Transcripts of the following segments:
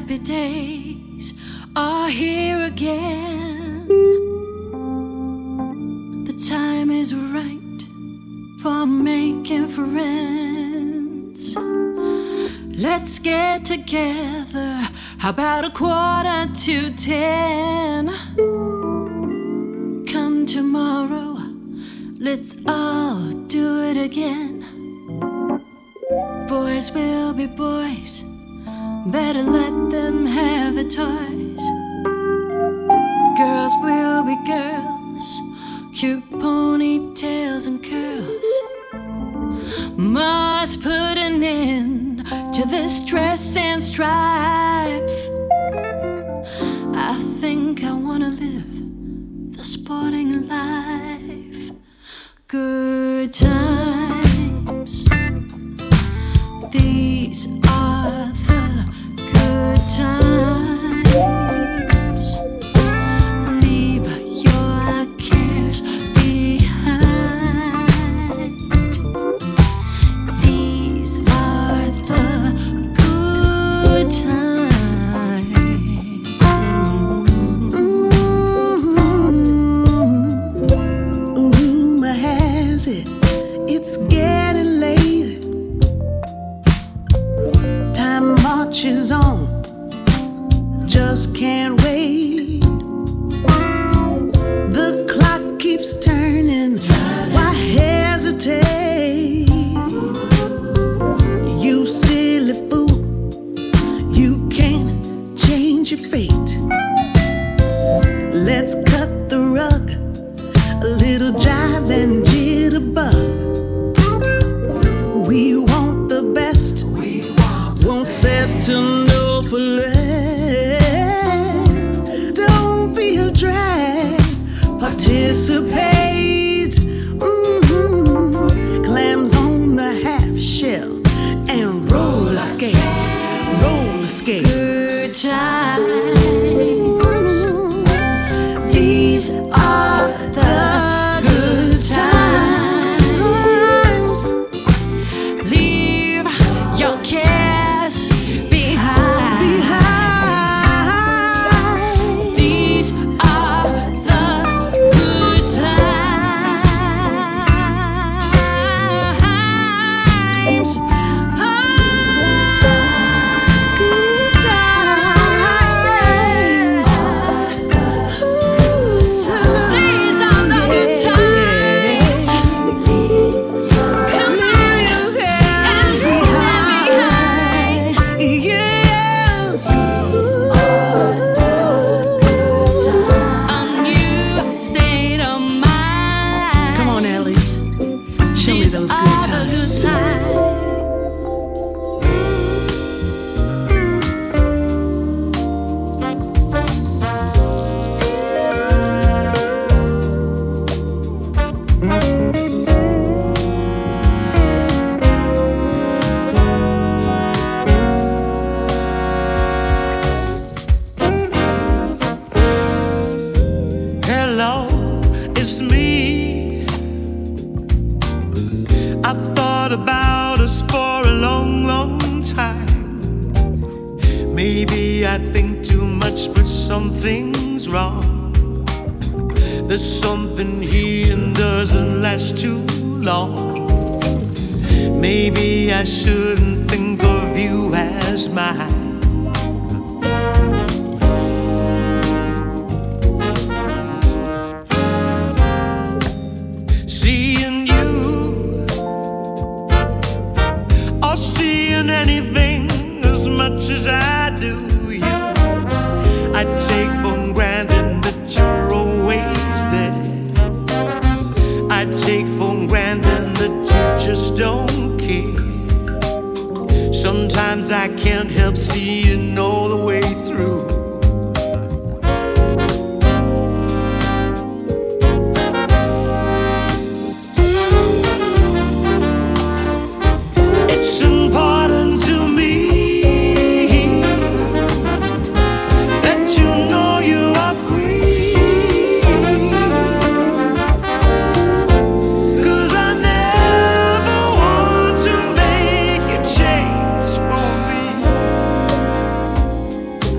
happy days are here again. The time is right for making friends. Let's get together. How about 10:15? Come tomorrow, let's all do it again. Boys will be boys, better let them have their toys. Girls will be girls, cute ponytails and curls. Must put an end to this stress and strife. I think I wanna live the sporting life. Good times, these are the good times. Leave your cares behind. These are the good times. Rumor has it, it's getting late. Time marches on, just can't wait. The clock keeps turning, why hesitate? You silly fool, you can't change your fate. Let's cut the rug, a little jive and jitterbug. We want the best, won't settle no for less. Don't be a drag, participate. Clams on the half shell and roller skate, roller skate. Good times. These are the good times. Leave your cares behind. These are the good times. Good times. These are the good times. Come on, and leave behind. Yes. A new state of mind. Come on, Ellie. Show me These those are good the times. good times. Hello, it's me. I've thought about us for a long, long time. Maybe I think too much, but something's wrong. There's something here and doesn't last too long. Maybe I shouldn't think of you as mine. Seeing you or seeing anything as much as I do you, I take for granted that you're always there. I take for granted that you just don't care. Sometimes I can't help seeing all the way through. It's important to me that you know you are free. 'Cause I never want to make you change for me.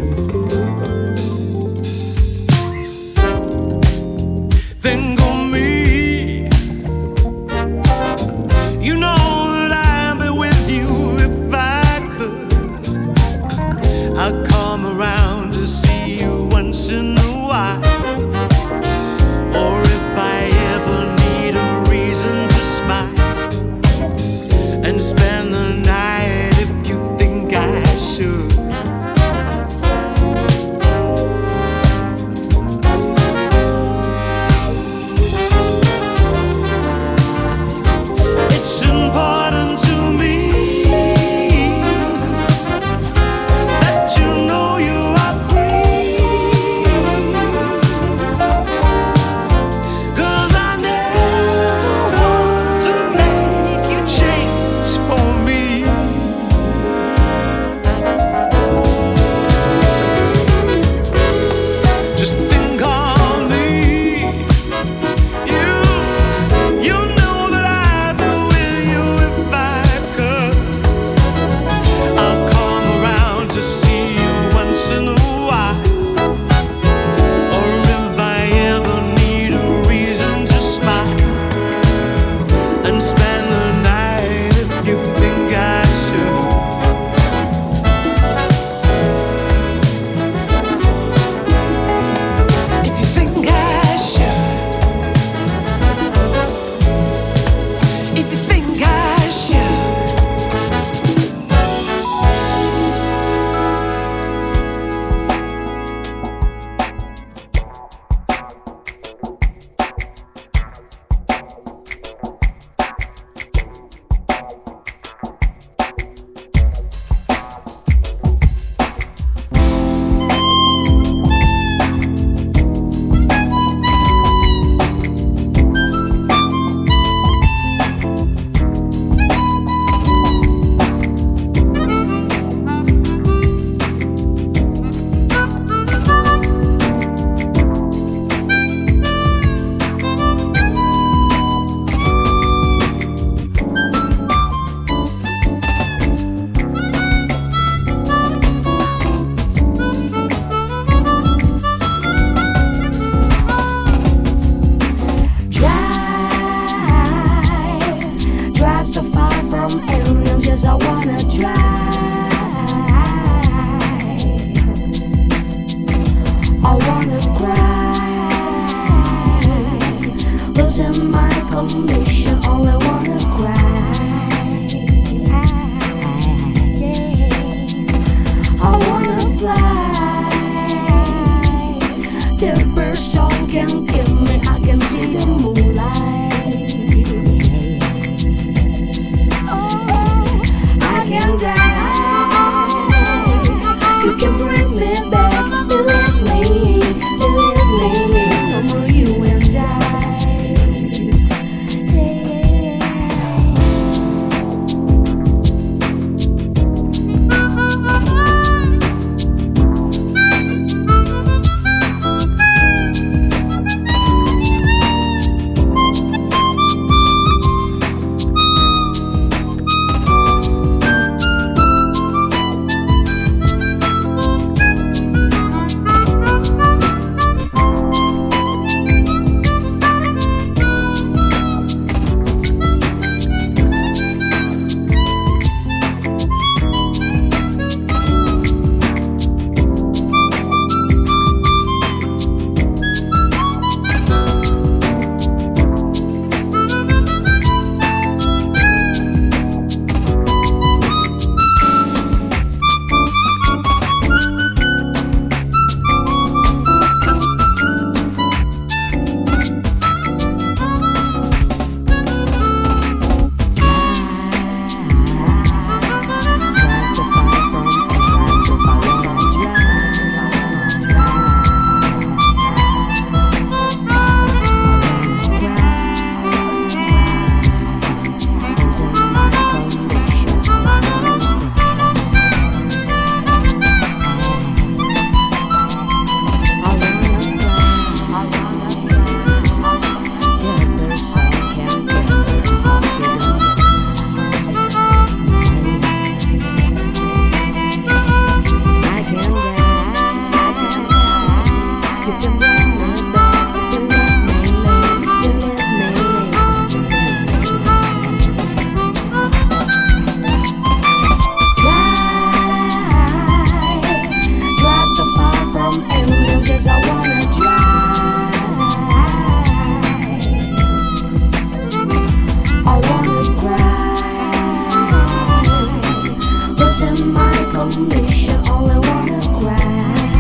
permission, only wanna cry.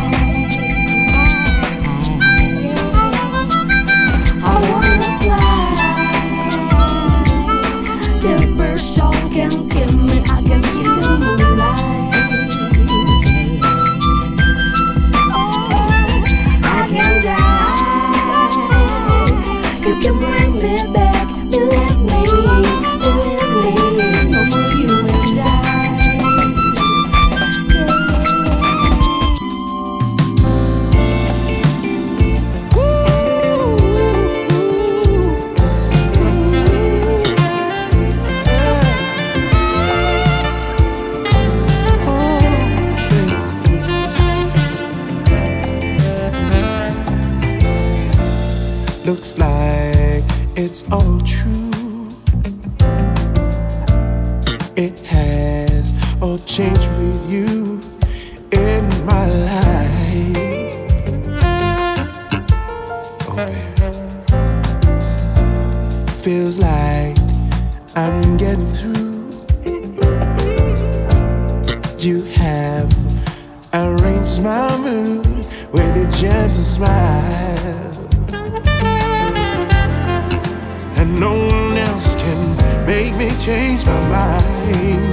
I wanna fly. The bird song can kill me, I can see the moonlight. I can die. You can bring me back, believe me, no more you and I. Looks like it's all true. It has all changed with you in my life. Oh, baby. Feels like I'm getting through. You have arranged my mood with a gentle smile. And no one else can make me change my mind.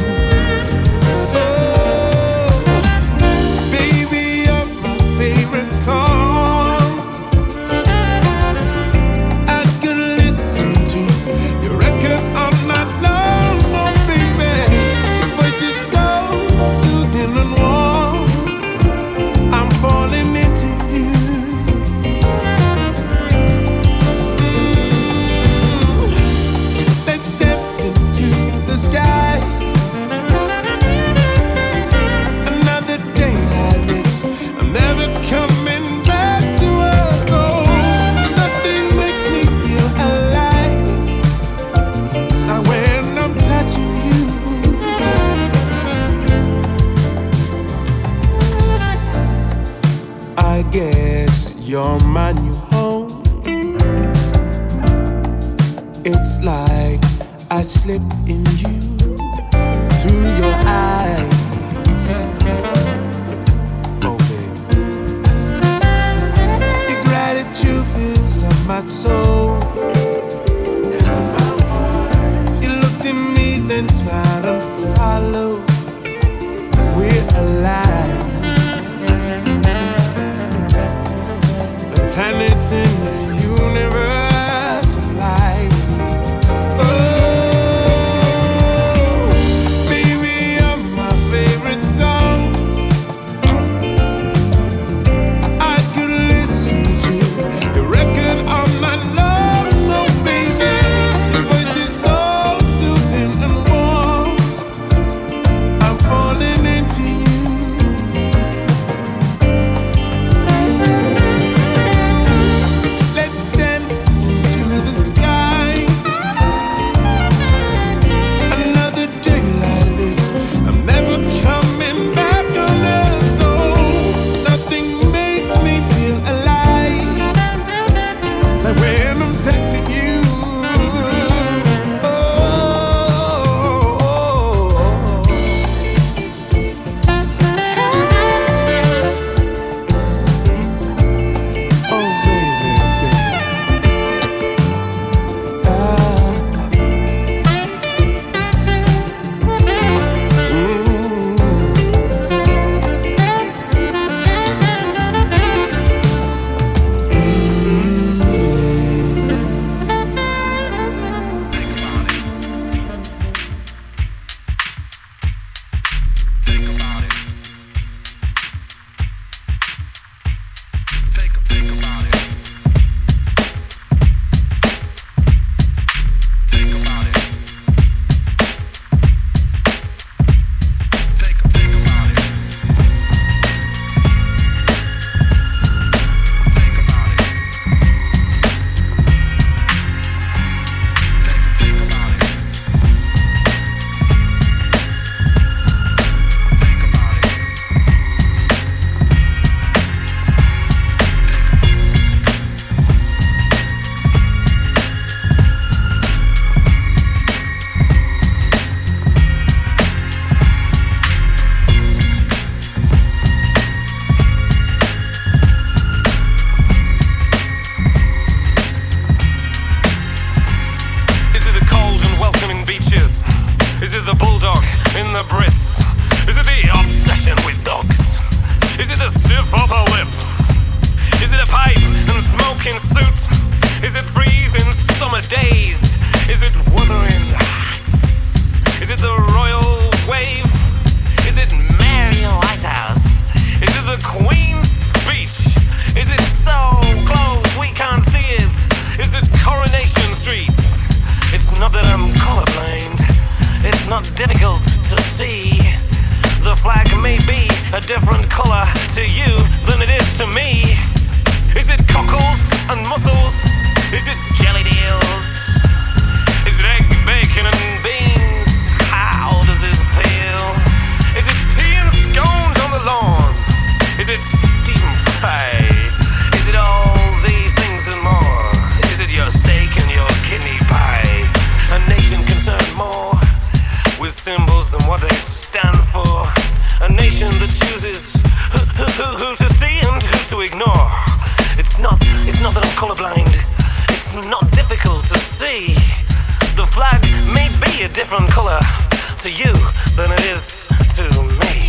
Oh, baby, you're my favorite song. I could listen to your record all night long. Oh, baby, your voice is so soothing and warm. I'm falling into you. Sky. Another day like this, I'm never coming back to earth. Oh, nothing makes me feel alive like when I'm touching you. I guess you're my new home. It's like I slipped in you through your eyes. Oh, baby. Your gratitude fills up my soul and my heart. You looked at me, then smiled and followed. We're alive. The planets in the universe of life. Oh, in the Brits? Is it the obsession with dogs? Is it the stiff upper lip? Is it a pipe and smoking suit? Is it freezing summer days? Is it wuthering hats? Is it the royal wave? Is it Mary Whitehouse? Is it the Queen's speech? Is it so close we can't see it? Is it Coronation Street? It's not that I'm colorblind. It's not difficult to see. The flag may be a different color to you than it is to me. Is it cockles and mussels? Is it jelly deals? Is it egg, bacon and beans? How does it feel? Is it tea and scones on the lawn? Is it steam fry? Is it all these things and more? Is it your steak and your kidney pie? A nation concerned more with symbols than what they stand for. A nation that chooses who to see and who to ignore. It's not that I'm colorblind. It's not difficult to see. The flag may be a different color to you than it is to me.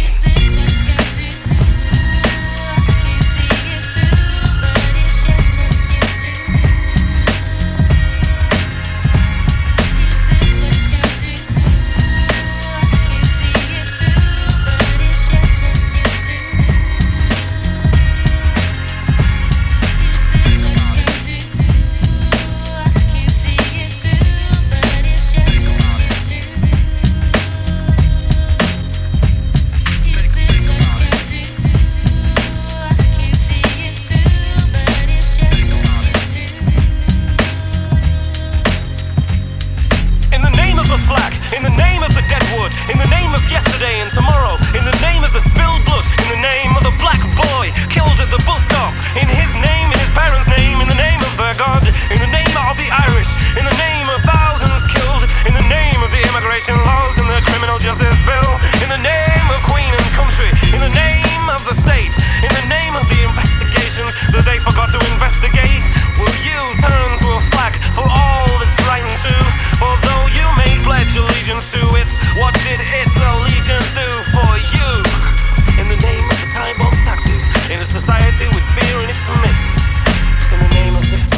Yesterday and tomorrow, in the name of the spilled blood, in the name of the black boy killed at the bus stop, in his name, in his parents' name, in the name of their God, in the name of the Irish, in the name of thousands killed, in the name of the immigration laws and the criminal justice bill, in the name of Queen and country, in the name of the state, in the name of the investigations that they forgot to investigate. Will you turn to a flag for all that's right and true? For though you may pledge allegiance to it, what did its allegiance do for you? In the name of the time bomb taxes, in a society with fear in its midst, in the name of this.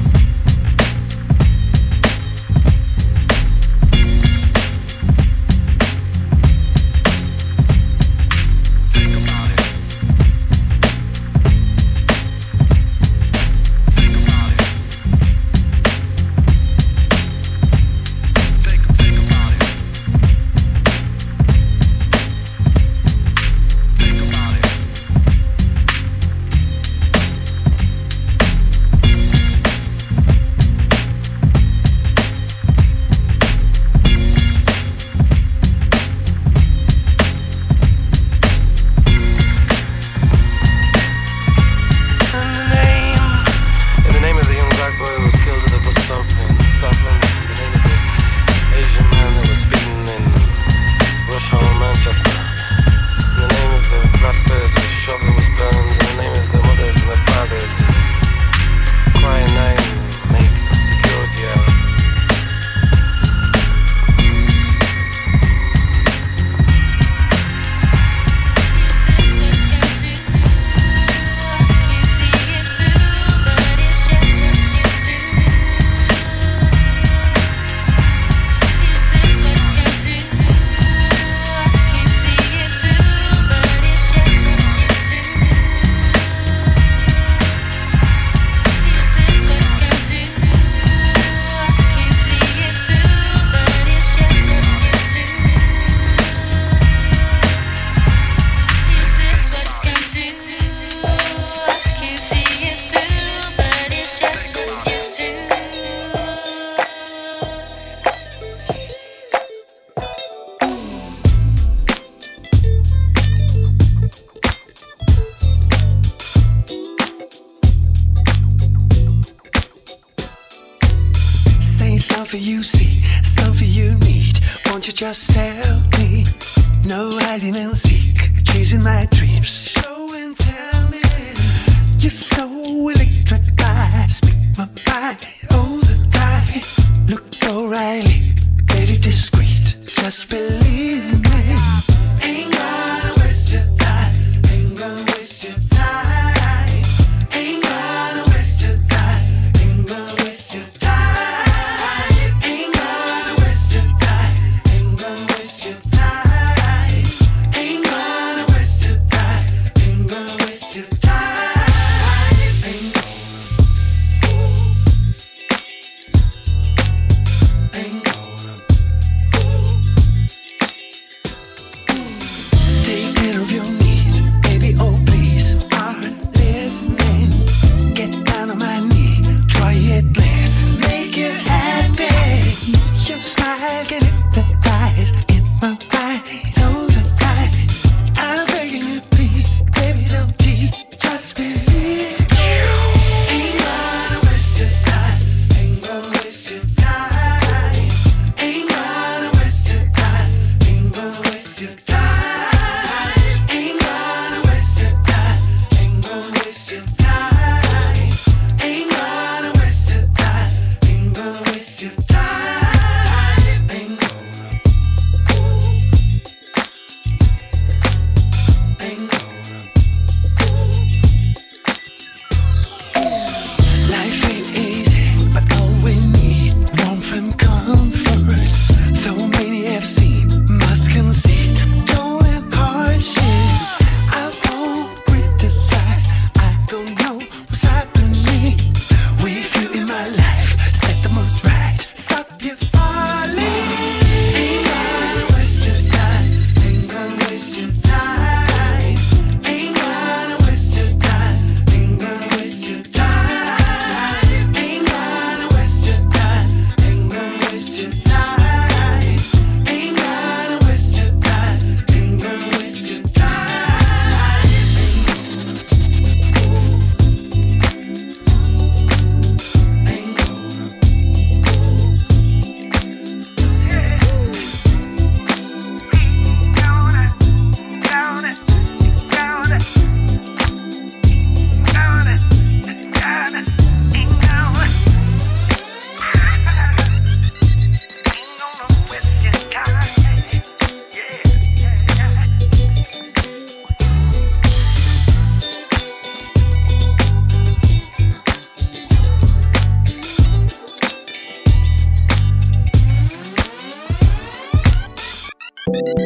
Something you see, something you need. Won't you just tell me? No hiding and seek, chasing my dreams. Show and tell me. You're so electric, I speak my mind all the time. Look O'Reilly, very discreet. Just believe me.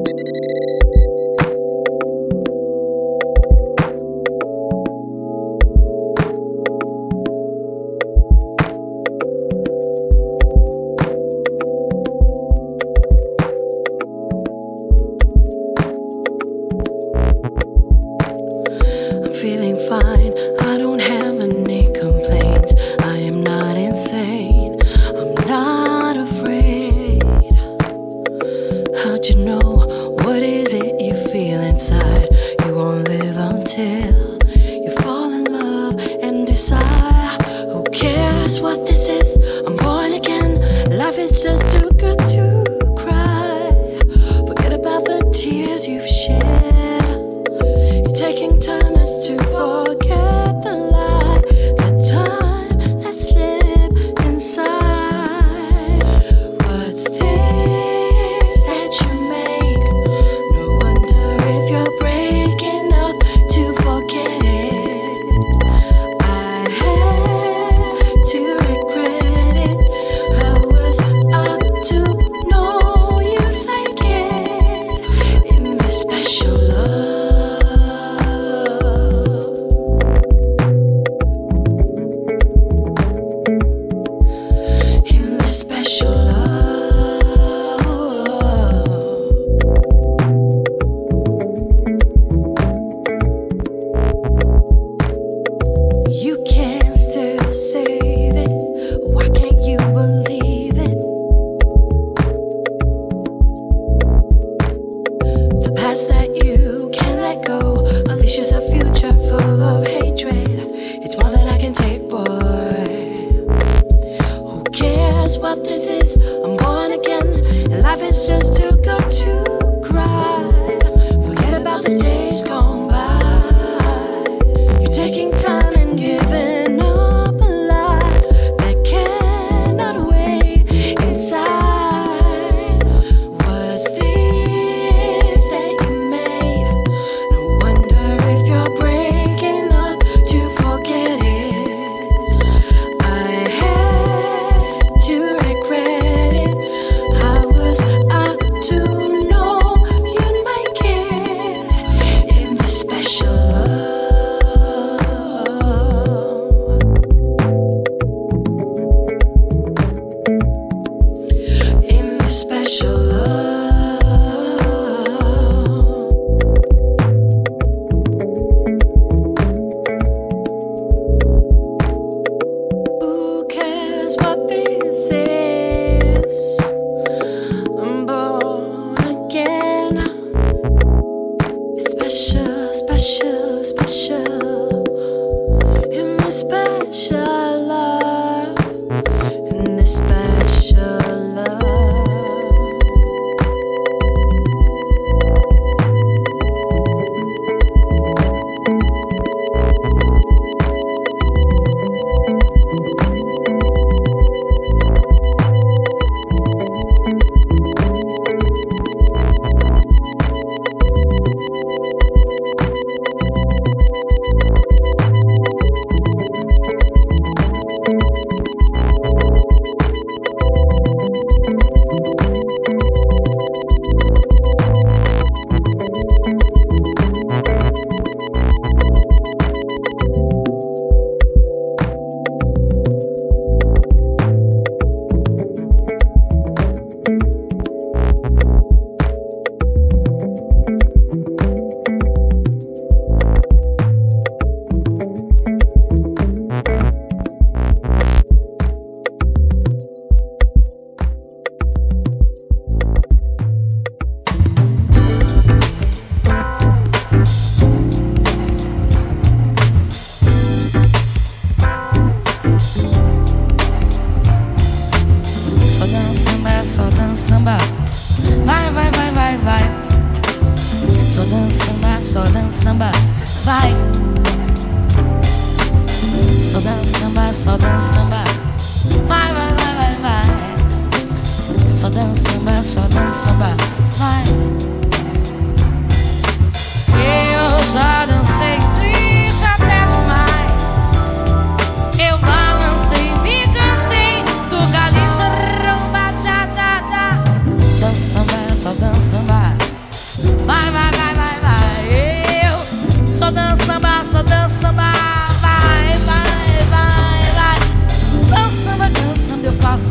Só dança samba,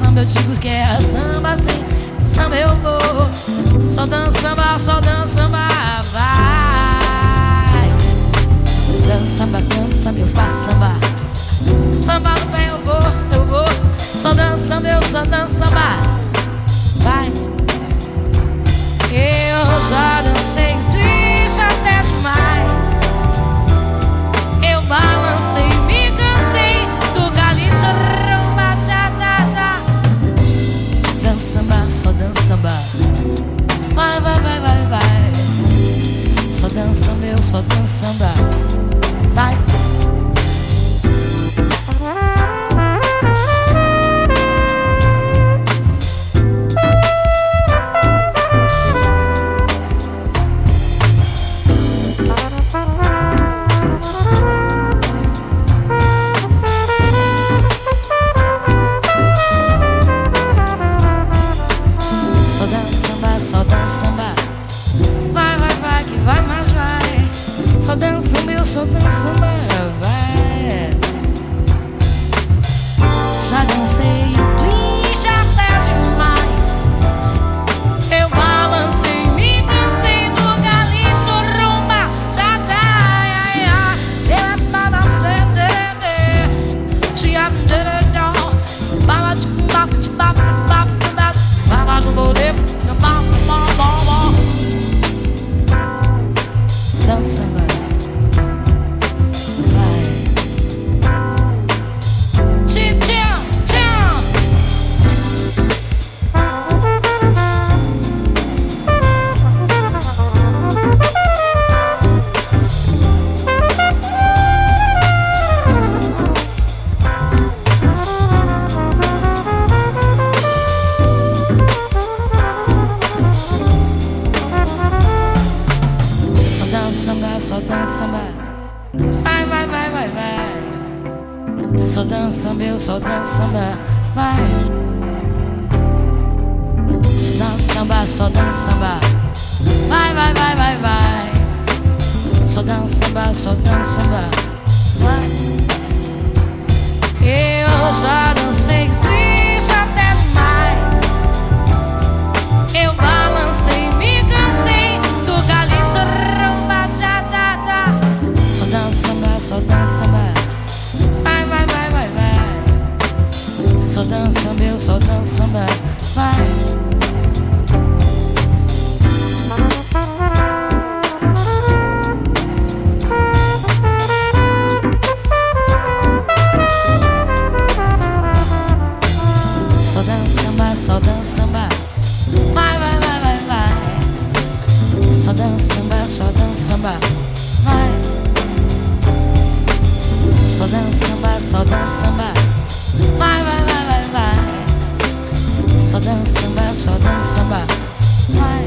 samba eu digo que é samba sim, samba eu vou. Só dança samba, vai. Dança samba, eu faço samba. Samba no pé eu vou. Só dança samba, vai. Eu já dancei triste até demais. Eu balancei, me cansei do calypso, rumba, tchá, tchá, tchá. Dança samba, só dança samba. Vai, vai, vai, vai, vai. Só dança samba. Vai. Só dança samba. Vai, vai, vai, que vai, mas vai. Só dança samba, vai. Já dancei triste até demais. Eu balancei, me cansei do calypso, rumba, tchá, tchá, ai, ai. Dança, vai. Tchim, tchim, tchim. Só dança samba. Vai, vai, vai, vai, vai. Só dança samba, vai. Só dança samba. Vai, vai, vai, vai, vai. Só dança samba, vai. Eu já dancei triste até demais. Eu balancei, me cansei do calypso, rumba, tchá, tchá, tchá. Só dança samba. Vai, vai, vai, vai, vai. Só dança samba, vai. Só dança samba. Vai, vai, vai, vai, vai. Só dança samba, vai. Só dança samba. Vai, vai, vai, vai, vai. Só dança samba, vai.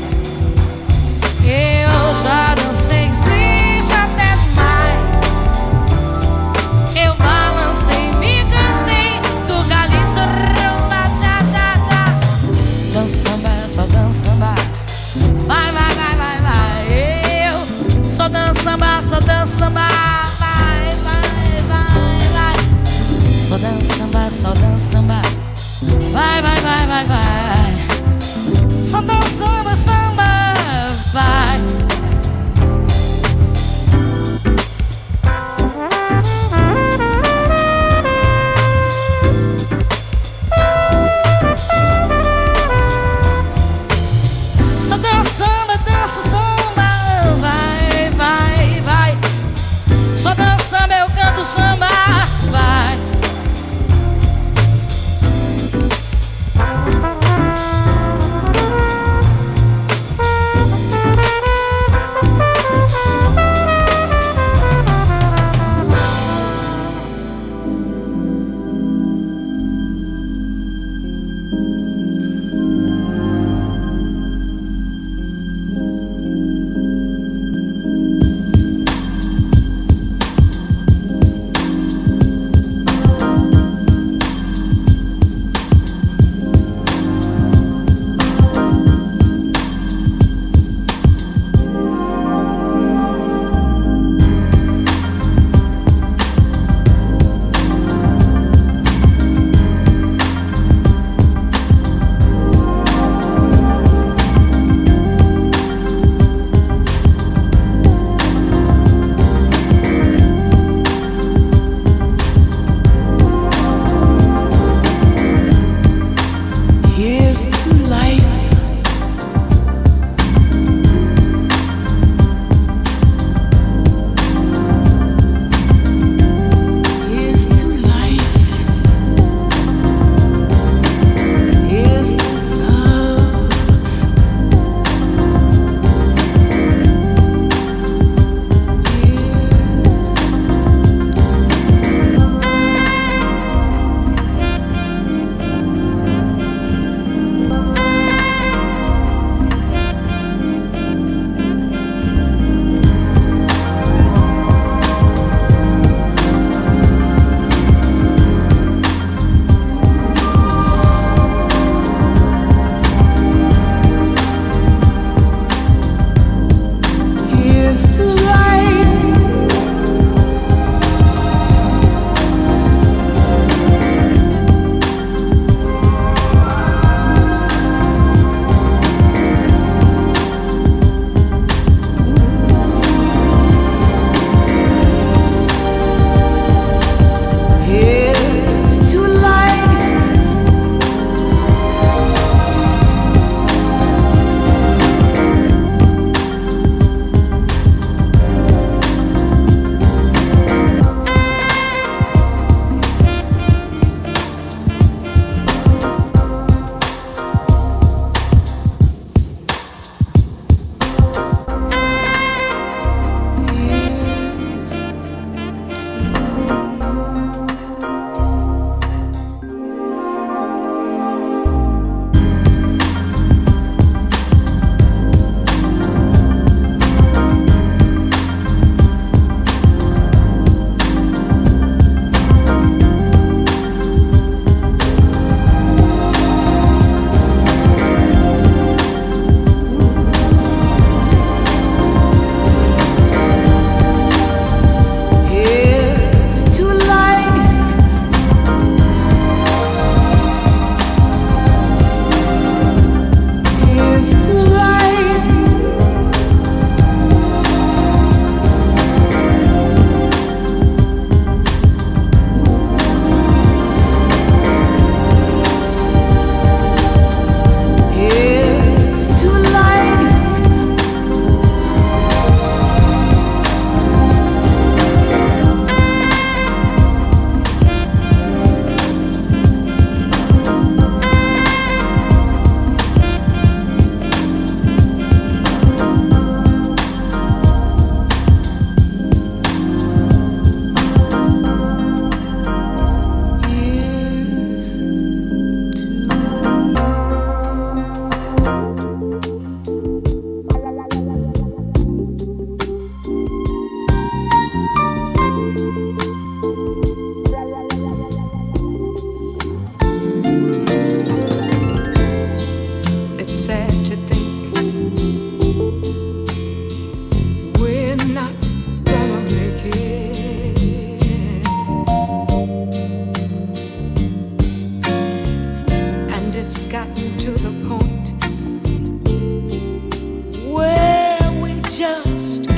Eu já dancei triste até demais. Eu balancei, me cansei do calypso, rumba, tchá, tchá, tchá. Dança samba. Vai, vai, vai, vai, vai. Eu só dança samba. Vai, vai, vai, vai. Só dança samba. Vai, vai, vai, vai, vai. Só dança samba, vai. Só dança samba, vai, vai, vai. Só dança samba, eu canto samba, vai.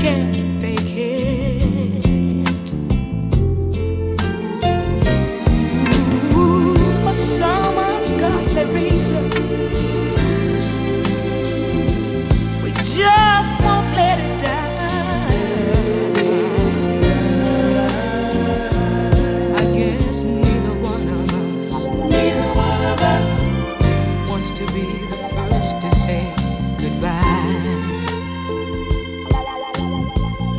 can't fake it. Ooh, for some ungodly reason, we just won't let it die. I guess neither one of us wants to be the first to say goodbye.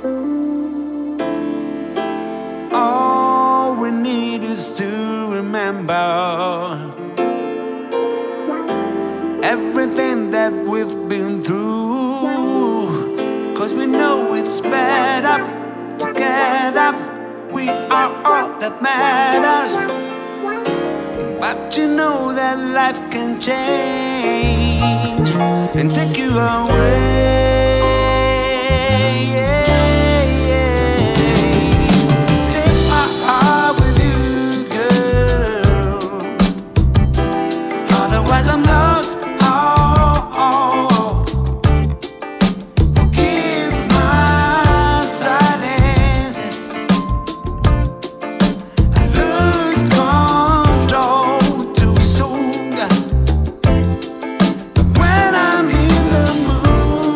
All we need is to remember everything that we've been through, 'cause we know it's better together. We are all that matters. But you know that life can change and take you away. Take my heart with you, girl. Otherwise I'm lost. Forgive my silences. I lose control too soon. But when I'm in the mood,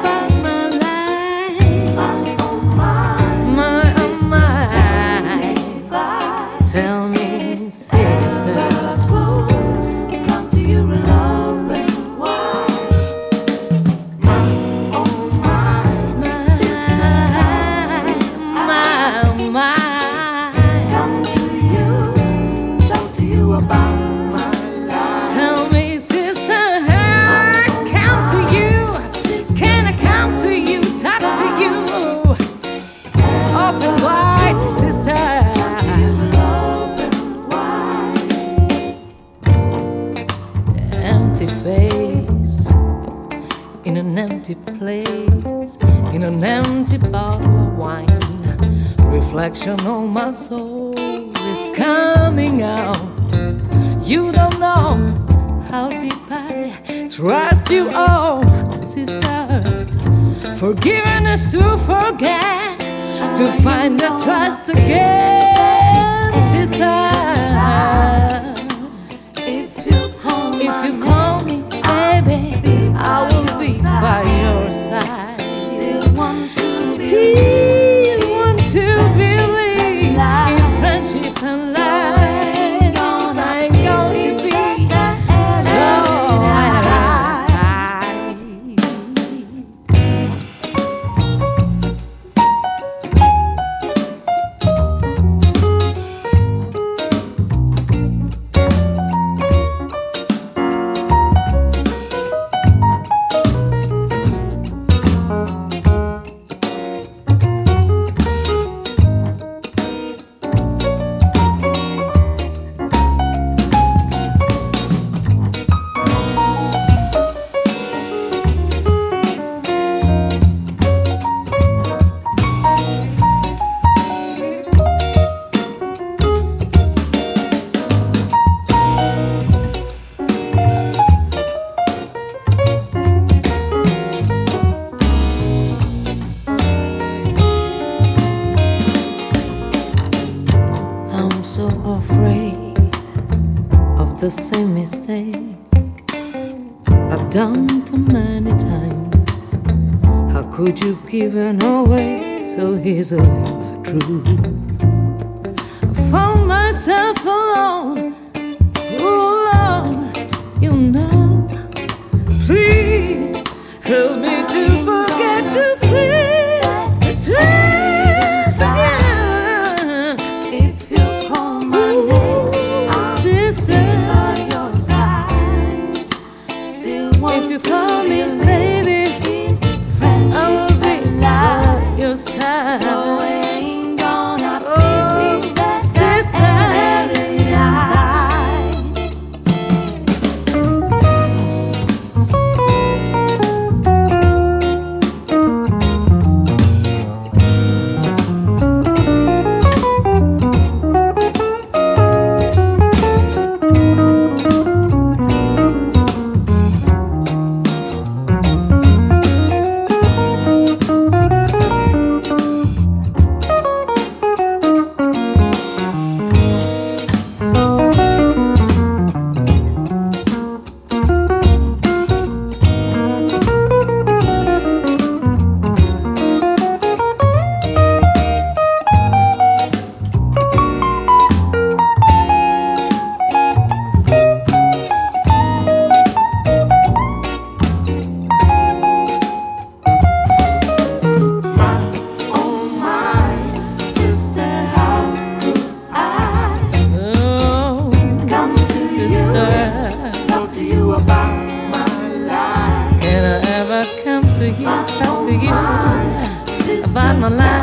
about my life. My, oh my. Tell me, sister. Come to you in love and wide. Oh my, sister, My. come to you, talk to you about my life. Tell me, sister, how I come to you? Can I come to you, talk to you? Open wide, sister. Love and wide. Empty face in an empty place, in an empty bottle of wine. Reflection on my soul is coming out. You don't know how deep I trust you, oh sister. Forgiveness to forget, to find the trust again, sister. If you If you call me, baby, I will be by your side. still want to Still want to believe in friendship and life. I'm going to be so satisfied. I'm so afraid of the same mistake I've done too many times. How could you've given away so easily my truth? I found myself alone, alone, you know. Please help me to forget to feel the truth again. If you call my name, I'll Sister, by your side. Still want if you call me baby, I will be by your side. So ain't gonna Oh, be that sister. inside. about my life.